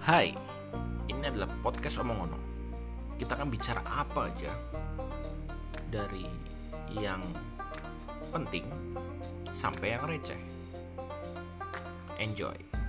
Hai, ini adalah podcast Omongono. Kita akan bicara apa aja, dari yang penting sampai yang receh. Enjoy.